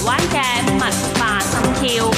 灣嘅文化心跳。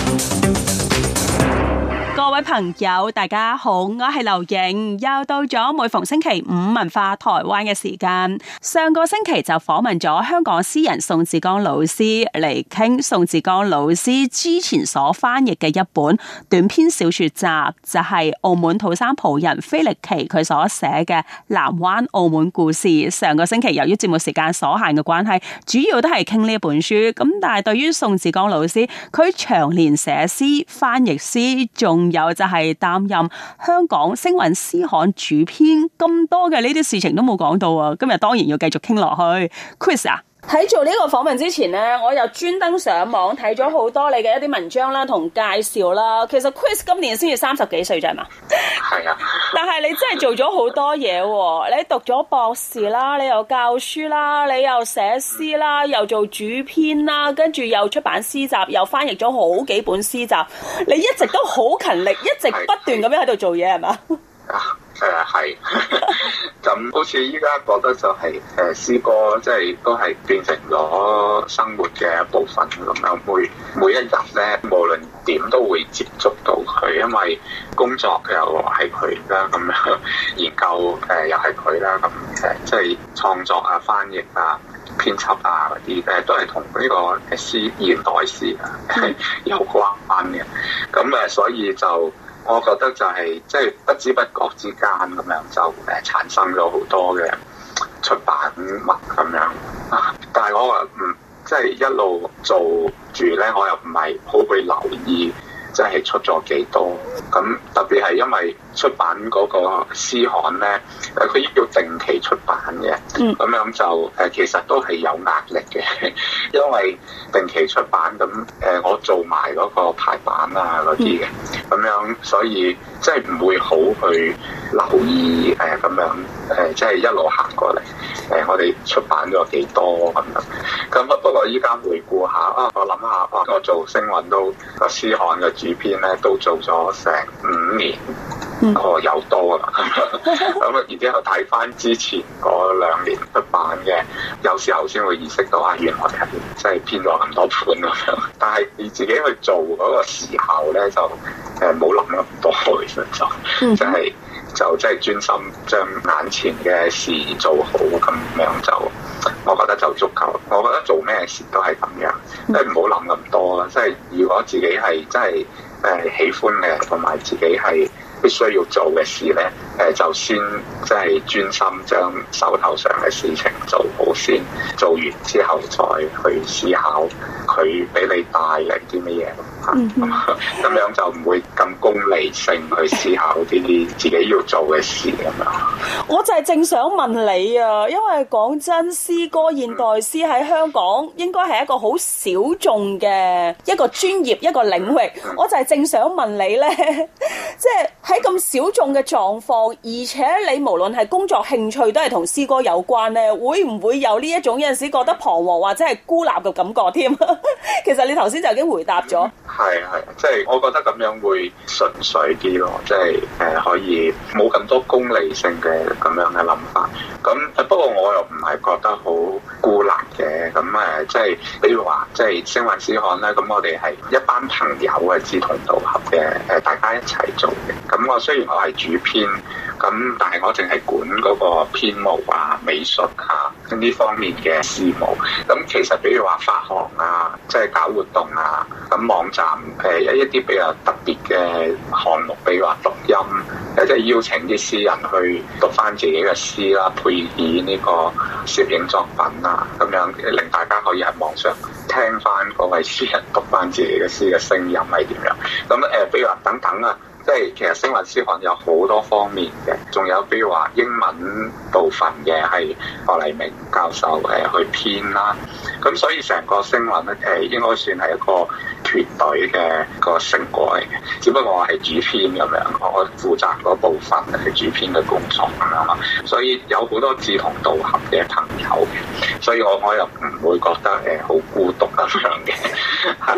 各位朋友，大家好，我係劉瑩，又到咗每逢星期五文化台灣嘅時間。上個星期就訪問咗香港詩人宋志剛老師嚟傾宋志剛老師之前所翻譯嘅一本短篇小說集，就係澳門土生葡人菲力奇佢所寫嘅《南灣澳門故事》。上個星期由於節目時間所限嘅關係，主要都係傾呢一本書。咁但係對於宋志剛老師，佢長年寫詩、翻譯詩，仲有就係擔任香港星韻詩刊主編，咁多嘅呢啲事情都冇講到啊！今日當然要繼續傾落去。Chris 啊，喺做呢個訪問之前呢，我又專登上網睇咗好多你嘅一啲文章啦，同介紹啦。其實 Chris 今年先至30幾歲啫嘛， 係啊。 但係你真係做咗好多嘢喎！你讀咗博士啦，你又教書啦，你又寫詩啦，又做主編啦，跟住又出版詩集，又翻譯咗好幾本詩集。你一直都好勤力，一直不斷咁樣喺度做嘢，係嘛？ 係，咁好似依家覺得就係詩歌，即係都係變成咗生活嘅一部分咁樣。每一日咧，無論點都會接觸到佢，因為工作又係佢啦，咁樣研究又係佢啦，咁即係創作啊、翻譯啊、編輯啊嗰啲都係同呢個詩現代詩有關嘅。咁所以就我覺得就係即係不知不覺之間咁樣就產生咗好多嘅出版物咁樣。但係我話即係一路做住咧，我又唔係好去留意即係出咗幾多。咁特別係因為出版嗰個詩刊咧，佢要定期出版嘅，咁樣就其實都係有壓力嘅，因為定期出版咁我做埋嗰個排版啊嗰啲嘅，咁樣所以即係唔會好去留意咁樣即係一路行過嚟我哋出版咗幾多咁樣。咁不過依家回顧下我諗下我做星韻都個詩刊嘅主編咧，都做咗成5年。有多啦，咁然之後睇翻之前嗰2年出版嘅，有時候先會意識到原來係即係編咗咁多本咁樣。但係你自己去做嗰個時候咧，就冇諗咁多，其實就即係專心將眼前嘅事做好咁樣就，我覺得就足夠。我覺得做咩事都係咁樣，即係唔好諗咁多啦。即係如果自己係真係喜歡嘅，同埋自己係必須要做嘅事咧，就先即係專心將手頭上嘅事情做好先，做完之後再去思考佢俾你帶嚟啲乜嘢。咁樣就唔會咁功利性去思考啲自己要做嘅事咁樣。 我就係正想問你啊，因為講真，詩歌現代詩喺香港應該係一個好小眾嘅一個專業一個領域。我就係正想問你咧，即係喺咁小眾嘅狀況，而且你無論係工作興趣都係同詩歌有關咧，會唔會有呢一種有陣時覺得彷徨或者係孤立嘅感覺添？其實你頭先就已經回答咗。 係，即係我覺得咁樣會純粹啲咯，即係可以冇咁多功利性嘅咁樣嘅諗法。咁不過我又唔係覺得好孤立嘅。咁即係比如話，即係星韻詩刊咧，咁我哋係一班朋友嘅志同道合嘅，大家一齊做嘅。咁我雖然我係主編，咁但係我淨係管嗰個編務啊、美術啊呢方面嘅事務。咁其實比如話發行啊，即係搞活動啊，咁網站有一啲比較特別嘅項目，比如話錄音，即係邀請啲詩人去讀翻自己嘅詩啦，配以呢個攝影作品啊，咁樣令大家可以喺網上聽翻嗰位詩人讀翻自己嘅詩嘅聲音係點樣。咁比如話等等啊。即係其實星韻詩刊有好多方面嘅，仲有比如話英文部分嘅係何黎明教授去編啦，咁所以成個星韻咧應該算係一個團隊嘅個成果嚟嘅，只不過我係主編咁樣，我負責嗰部分係主編嘅工作咁樣嘛，所以有好多志同道合嘅朋友嘅，所以我又唔會覺得好孤獨咁樣嘅，咁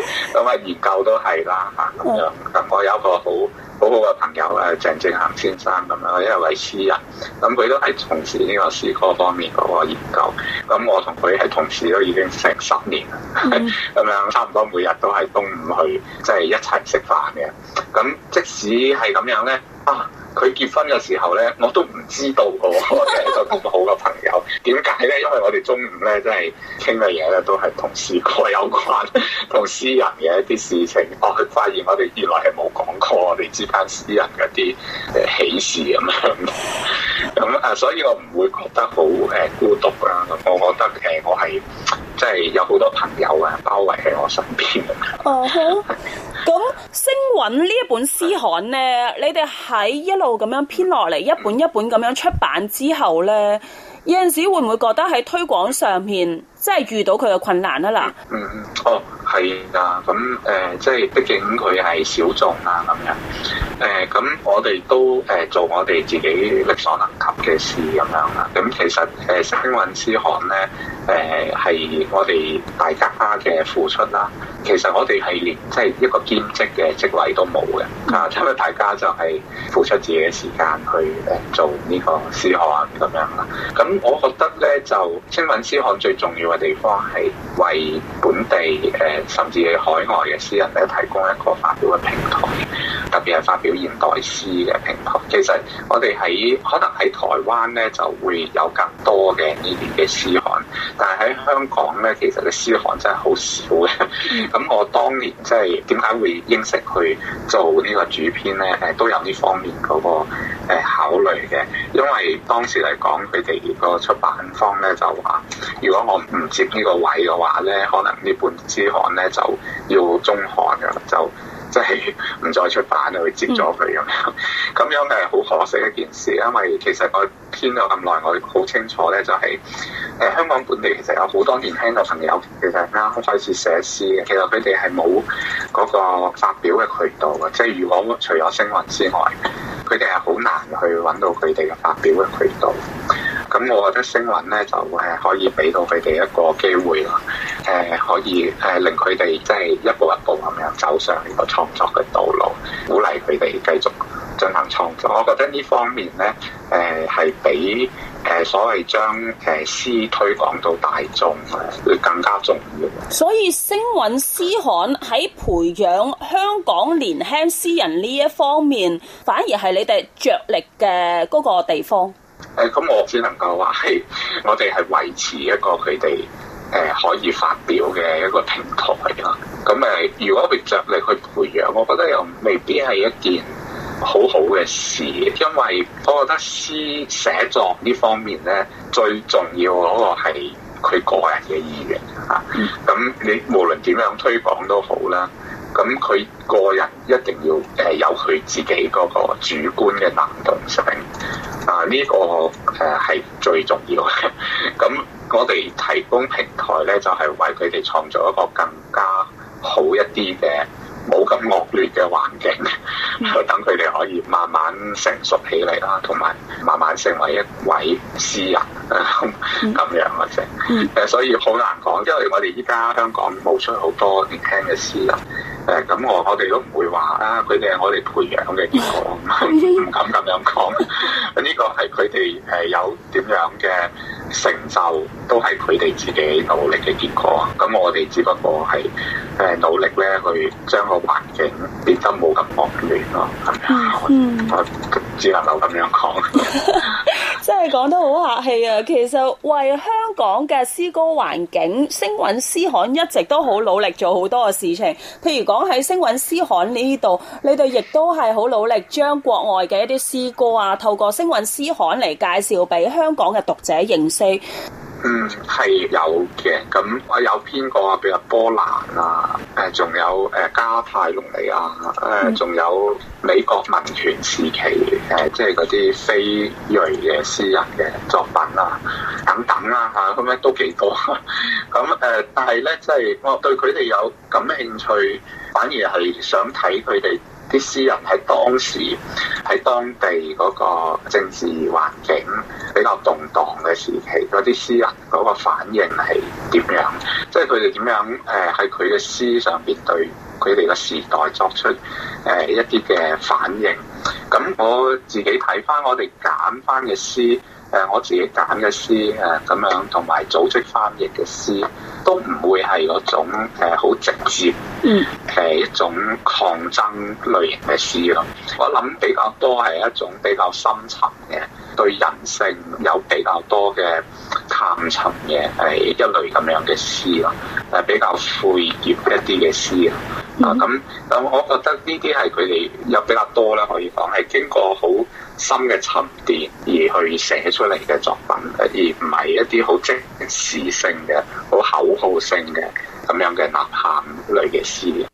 咁啊研究都係啦嚇咁樣。咁我有一個好好嘅朋友鄭正恒先生咁樣，一位詩人，咁佢都係從事呢個詩歌方面嗰個研究。咁我同佢係同事都已經成10年啦，咁樣差唔多每日都係中午去即係一齊食飯嘅。咁即使係咁樣咧，佢結婚嘅時候咧，我都唔知道嘅喎，我係一個咁好嘅朋友。點解咧？因為我哋中午咧，真係傾嘅嘢咧，都係同詩歌有關，同詩人嘅一啲事情。佢發現我哋原來係冇講過我哋之間詩人嗰啲喜事咁樣。咁所以我唔會覺得好孤獨啦。咁我覺得我係即係有好多朋友包圍喺我身邊。 咁星韻呢一本詩刊咧，你哋喺一路咁樣編落嚟，一本一本咁樣出版之後咧，有陣時會唔會覺得喺推廣上面即係遇到佢嘅困難啊？嗱， 係啊，咁即係畢竟佢係小眾啊咁樣，咁我哋都做我哋自己力所能及嘅事咁樣啦。咁其實星韻詩刊咧，係我哋大家嘅付出啦。其實我哋係連即係一個兼職嘅職位都冇嘅，因為大家就係付出自己嘅時間去做呢個詩刊咁樣啦。咁我覺得咧，就星韻詩刊最重要嘅地方係為本地甚至係海外嘅詩人咧提供一個發表嘅平台，特別係發表現代詩嘅平台。其實我哋可能喺台灣咧就會有更多嘅呢啲嘅詩刊，但係喺香港咧，其實嘅詩刊真係好少嘅。咁我當年即係點解會應承去做呢個主編咧？都有呢方面嗰個考慮嘅，因為當時嚟講，佢哋個出版方咧就話，如果我唔接呢個位嘅話咧，可能呢本詩刊咧就要中刊㗎，就即係唔再出版去接咗佢咁樣。咁樣係好可惜一件事，因為其實我編咗咁耐，我好清楚咧，就係香港本地其實有好多年輕嘅朋友，其實啱開始寫詩嘅，其實佢哋係冇嗰個發表嘅渠道嘅，即係如果除咗星韻之外，佢哋係好難去揾到佢哋嘅發表嘅渠道。咁我覺得星韻咧就可以俾到佢哋一個機會啦，可以令佢哋即係一步一步咁樣走上呢個創作嘅道路，鼓勵佢哋繼續進行創作。我覺得呢方面咧，係比所謂將詩推廣到大眾會更加重要。 所以星韻詩刊喺培養香港年輕詩人呢一方面，反而係你哋着力嘅嗰個地方。 咁我只能夠話係我哋係維持一個佢哋可以發表嘅一個平台啦。咁如果佢着力去培養，我覺得又未必係一件好好嘅事，因為我覺得詩寫作呢方面咧，最重要嗰個係佢個人嘅意願嚇。咁你無論點樣推廣都好啦，咁佢個人一定要有佢自己嗰個主觀嘅能動性。呢個係最重要嘅。咁我哋提供平台咧，就係為佢哋創造一個更加好一啲嘅冇咁惡劣嘅環境，等佢哋可以慢慢成熟起嚟啦，同埋慢慢成為一位詩人咁樣嘅啫。所以好難講，因為我哋依家香港冒出好多年輕嘅詩人。咁我哋都唔會話佢哋係我哋培養嘅結果，唔敢咁樣講。呢個係佢哋有點樣嘅成就，都係佢哋自己努力嘅結果。咁我哋只不過係努力咧去將個環境變得冇咁惡劣咯。我只能夠咁樣講。 真係講得好客氣啊！其實為香港嘅詩歌環境，星韻詩刊一直都好努力做好多嘅事情。譬如講喺星韻詩刊呢度，你哋亦都係好努力將國外嘅一啲詩歌啊，透過星韻詩刊嚟介紹俾香港嘅讀者認識。 係有嘅，咁我有編過，譬如波蘭啊，仲有加泰隆尼亞，仲有美國民權時期即係嗰啲非裔嘅詩人嘅作品啊，等等啦嚇，咁咧都幾多。咁但係咧，即係我對佢哋有感興趣，反而係想睇佢哋啲詩人喺當時喺當地嗰個政治環境比較動盪嘅時期，嗰啲詩人嗰個反應係點樣？即係佢哋點樣喺佢嘅詩上邊對佢哋嘅時代作出一啲嘅反應？咁我自己睇翻我哋揀翻嘅詩，我自己揀嘅詩咁樣，同埋組織翻譯嘅詩，都唔會係嗰種好直接一種抗爭類型嘅詩咯。我諗比較多係一種比較深層嘅，對人性有比較多嘅探尋嘅一類咁樣嘅詩咯，比較晦澀一啲嘅詩啊。咁我覺得呢啲係佢哋有比較多啦，可以講係經過好深嘅沉澱而去寫出嚟嘅作品，而唔係一啲好即時性嘅、好口號性嘅咁樣嘅吶喊類嘅詩。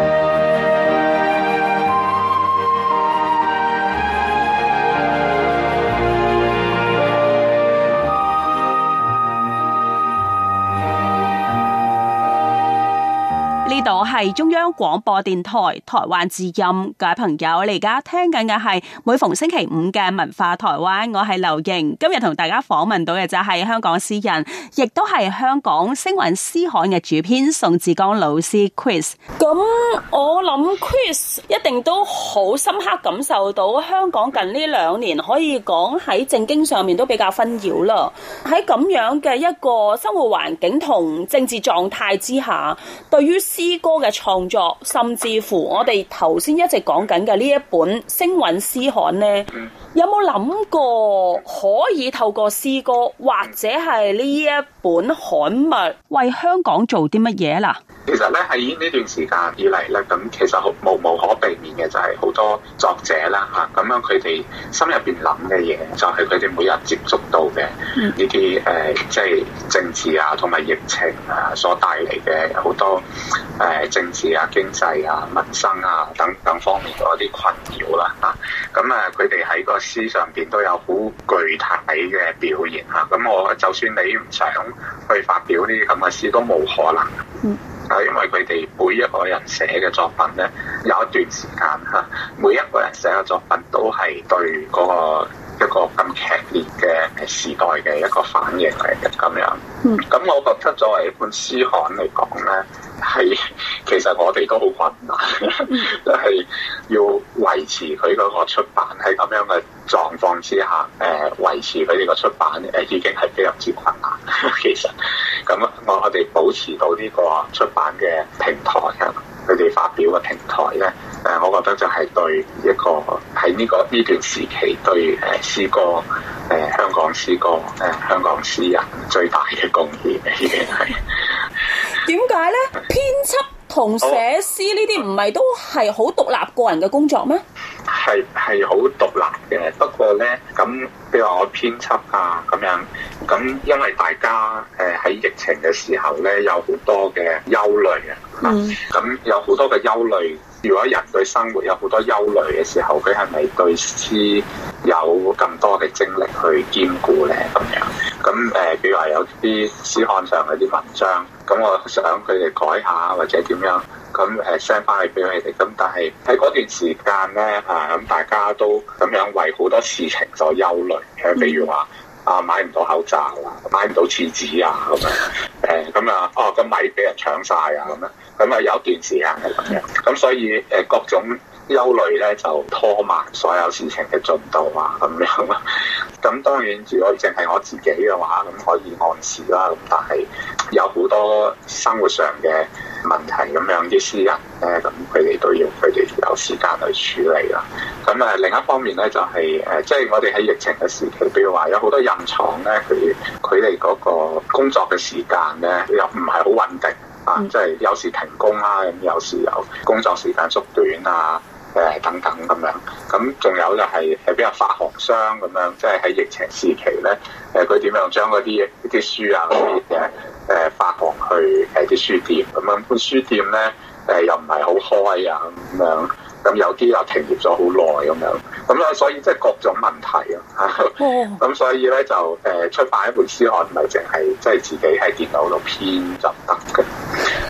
呢度係中央廣播電台台灣之音，各位朋友，你而家聽緊嘅係每逢星期五嘅文化台灣，我係劉瑩。今日同大家訪問到嘅就係香港詩人，亦都係香港聲韻詩刊嘅主編宋志剛老師 Chris。咁我諗 Chris 一定都好深刻感受到香港近呢2年可以講喺政經上面都比較紛擾啦。喺咁樣嘅一個生活環境同政治狀態之下，對於詩歌嘅創作，甚至乎我哋頭先一直講緊嘅呢一本聲韻詩刊呢，有冇諗過可以透過詩歌或者係呢一本刊物為香港做啲乜嘢啦？ 其實咧喺呢段時間以嚟咧，咁其實無可避免嘅就係好多作者啦嚇，咁樣佢哋心入邊諗嘅嘢，就係佢哋每日接觸到嘅呢啲即係政治啊同埋疫情啊所帶嚟嘅好多政治啊、經濟啊、民生啊等方面嗰啲困擾啦嚇。咁佢哋喺個詩上邊都有好具體嘅表現嚇。咁我就算你唔想去發表呢啲咁嘅詩，都冇可能。因為佢哋每一個人寫嘅作品咧，有一段時間嚇，每一個人寫嘅作品都係對嗰個一個咁劇烈嘅時代嘅一個反應嚟嘅咁樣。咁我覺得作為一本詩刊嚟講咧，係其實我哋都好困難，就係要維持佢嗰個出版喺咁樣嘅狀況之下，維持佢哋個出版已經係非常之困難。其實咁我哋保持到呢個出版嘅平台啊，佢哋發表嘅平台咧，我覺得就係對一個喺呢段時期對詩歌香港詩歌香港詩人最大嘅貢獻嘅，已經係。 點解咧？編輯同寫詩呢啲唔係都係好獨立個人嘅工作咩？ 係好獨立嘅，不過咧咁，譬如話我編輯啊咁樣，咁因為大家喺疫情嘅時候咧，有好多嘅憂慮啊，咁有好多嘅憂慮。如果人對生活有好多憂慮嘅時候，佢係咪對詩有咁多嘅精力去兼顧咧？咁樣咁譬如話有啲詩刊上嗰啲文章，咁我想佢哋改下或者點樣，咁send 翻去俾佢哋。咁但係喺嗰段時間咧，咁大家都咁樣為好多事情所憂慮，譬如話買唔到口罩啊，買唔到廁紙啊咁樣，個米俾人搶晒啊咁樣。咁有段時間係咁樣，咁所以各種憂慮咧就拖慢所有事情嘅進度啊咁樣啦。咁當然如果淨係我自己嘅話，咁可以按時啦。咁但係有好多生活上嘅問題咁樣，啲詩人咧，咁佢哋都要佢哋有時間去處理啦。咁另一方面咧就係即係我哋喺疫情嘅時期，譬如話有好多印廠咧，佢哋嗰個工作嘅時間咧又唔係好穩定。即係有時停工啦，咁有時有工作時間縮短啊，等等咁樣。咁仲有就係比較發行商咁樣，即係喺疫情時期咧，佢點樣將嗰啲書啊嗰啲嘅發行去啲書店咁樣。本書店咧又唔係好開啊咁樣，咁有啲又停業咗好耐咁樣。咁啊，所以即係各種問題啊。咁所以咧就出版一本詩刊唔係淨係即係自己喺電腦度編就得嘅。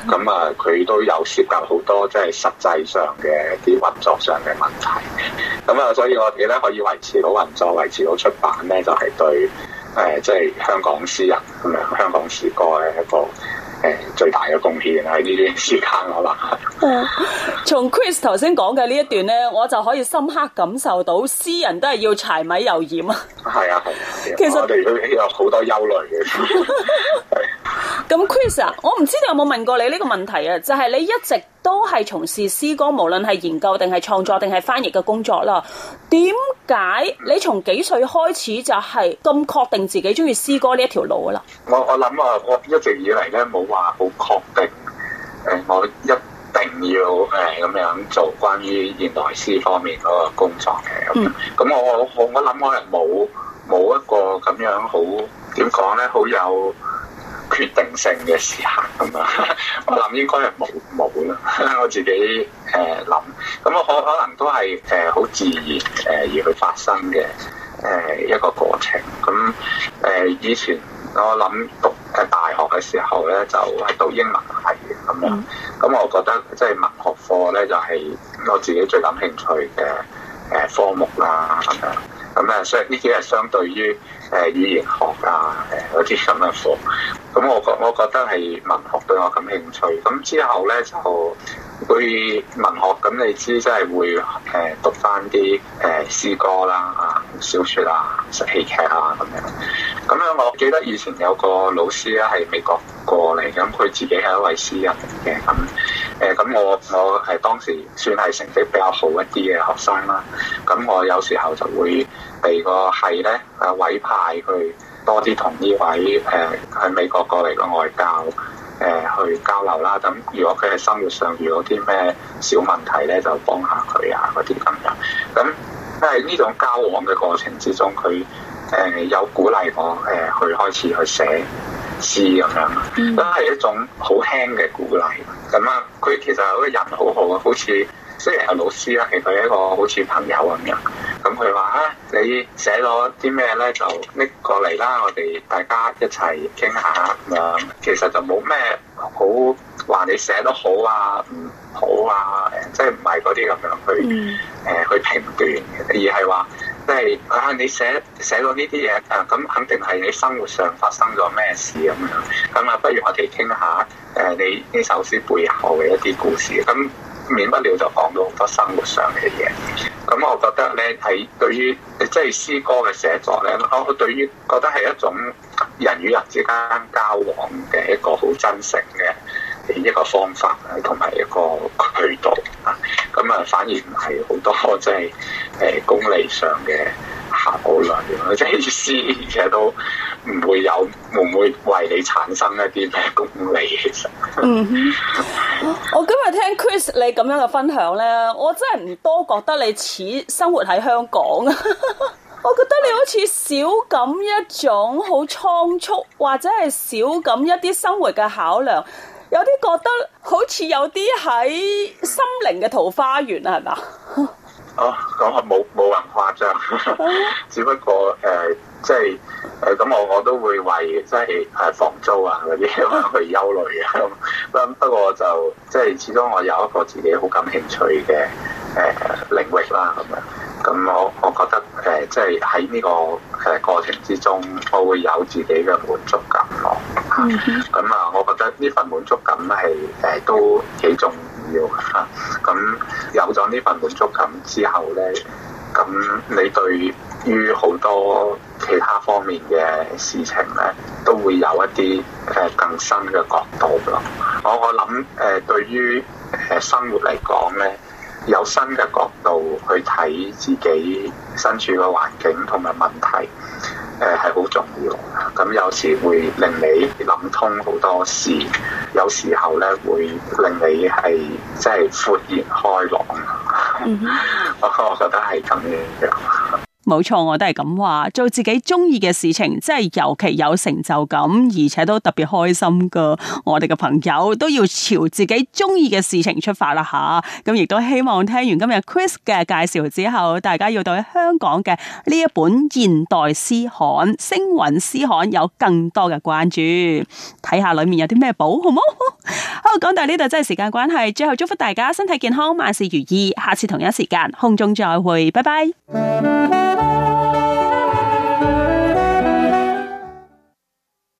咁啊，佢都有涉及好多即係實際上嘅一啲運作上嘅問題。咁啊，所以我哋咧可以維持到運作、維持到出版咧，就係對即係香港詩人咁樣、香港詩歌嘅一個最大嘅貢獻喺呢段時間可能。 從 Chris 頭先講嘅呢一段咧，我就可以深刻感受到詩人都係要柴米油鹽啊。 係啊， 其實我哋都有好多憂慮嘅。 咁 Chris 啊，我唔知道有冇問過你呢個問題啊？就係你一直都係從事詩歌，無論係研究定係創作定係翻譯嘅工作啦。點解你從幾歲開始就係咁確定自己中意詩歌呢一條路啊？啦， 我諗啊，我一直以嚟咧冇話好確定，我一定要咁樣做關於現代詩方面嗰個工作嘅。咁我諗我係冇一個咁樣好點講咧，好有決定性嘅時刻咁啊！我諗應該係冇啦，我自己諗，咁我可能都係好自然而去發生嘅一個過程。咁以前我諗讀大學嘅時候咧，就係讀英文系咁樣。咁我覺得即係文學課咧，就係我自己最感興趣嘅科目啦咁樣。咁所以呢啲係相對於語言學啊嗰啲咁嘅課。咁我覺得係文學對我感興趣。咁之後咧就會文學，咁你知即係會讀翻啲詩歌啦、小説啊、戲劇啊咁樣。咁樣我記得以前有個老師咧係美國過嚟，咁佢自己係一位詩人嚟嘅。咁我係當時算係成績比較好一啲嘅學生啦。咁我有時候就會被個系咧委派去多啲同呢位喺美國過嚟嘅外教去交流啦。咁如果佢喺生活上遇到啲咩小問題咧，就幫下佢啊嗰啲咁樣。咁喺呢種交往嘅過程之中，佢有鼓勵我去開始去寫詩咁樣，都係一種好輕嘅鼓勵。咁啊，佢其實嗰個人好好啊，好似雖然係老師啦，其實佢係一個好似朋友咁樣。咁佢話你寫咗啲咩咧，就拎過嚟啦，我哋大家一齊傾下咁樣。其實就冇咩好話你寫得好啊，唔好啊，即係唔係嗰啲咁樣去評斷嘅，而係話即係你寫到呢啲嘢咁肯定係你生活上發生咗咩事咁樣。咁不如我哋傾下你呢首詩背後嘅一啲故事。咁免不了就講到好多生活上嘅嘢。咁我覺得咧，喺對於即係詩歌嘅寫作咧，我對於覺得係一種人與人之間交往嘅一個好真誠嘅一個方法同埋一個渠道啊。咁反而唔係好多即係功利上嘅考慮，即係詩而且都會唔會為你產生一啲咩功利其實。 我今日聽 Chris 你咁樣嘅分享咧，我真係唔多覺得你似生活喺香港啊！我覺得你好似少咁一種好倉促，或者係少咁一啲生活嘅考量，有啲覺得好似有啲喺心靈嘅桃花源啊，係嘛？ 咁我冇人誇張，只不過即係咁我都會為即係房租啊嗰啲去憂慮嘅。不過就即係始終我有一個自己好感興趣嘅領域啦咁樣。咁我覺得即係喺呢個過程之中，我會有自己嘅滿足感咯。咁我覺得呢份滿足感係都幾重要嚇。咁有咗呢份滿足感之後咧，咁你對於好多其他方面嘅事情咧，都會有一啲更新嘅角度咯。我諗對於生活嚟講咧，有新嘅角度去睇自己身處嘅環境同埋問題，係好重要。咁有時會令你諗通好多事，有時候咧會令你係即係豁然開朗。我覺得係咁樣。 冇錯，我都係咁話，做自己中意嘅事情，即係尤其有成就感，而且都特別開心噶。我哋嘅朋友都要朝自己中意嘅事情出發啦吓。咁亦都希望聽完今日 Chris 嘅介紹之後，大家要對香港嘅呢一本現代詩刊、星雲詩刊有更多嘅關注，睇下裏面有啲咩寶，好冇？好， 講到呢度真係時間關係，最後祝福大家身體健康，萬事如意。下次同一時間空中再會，拜拜。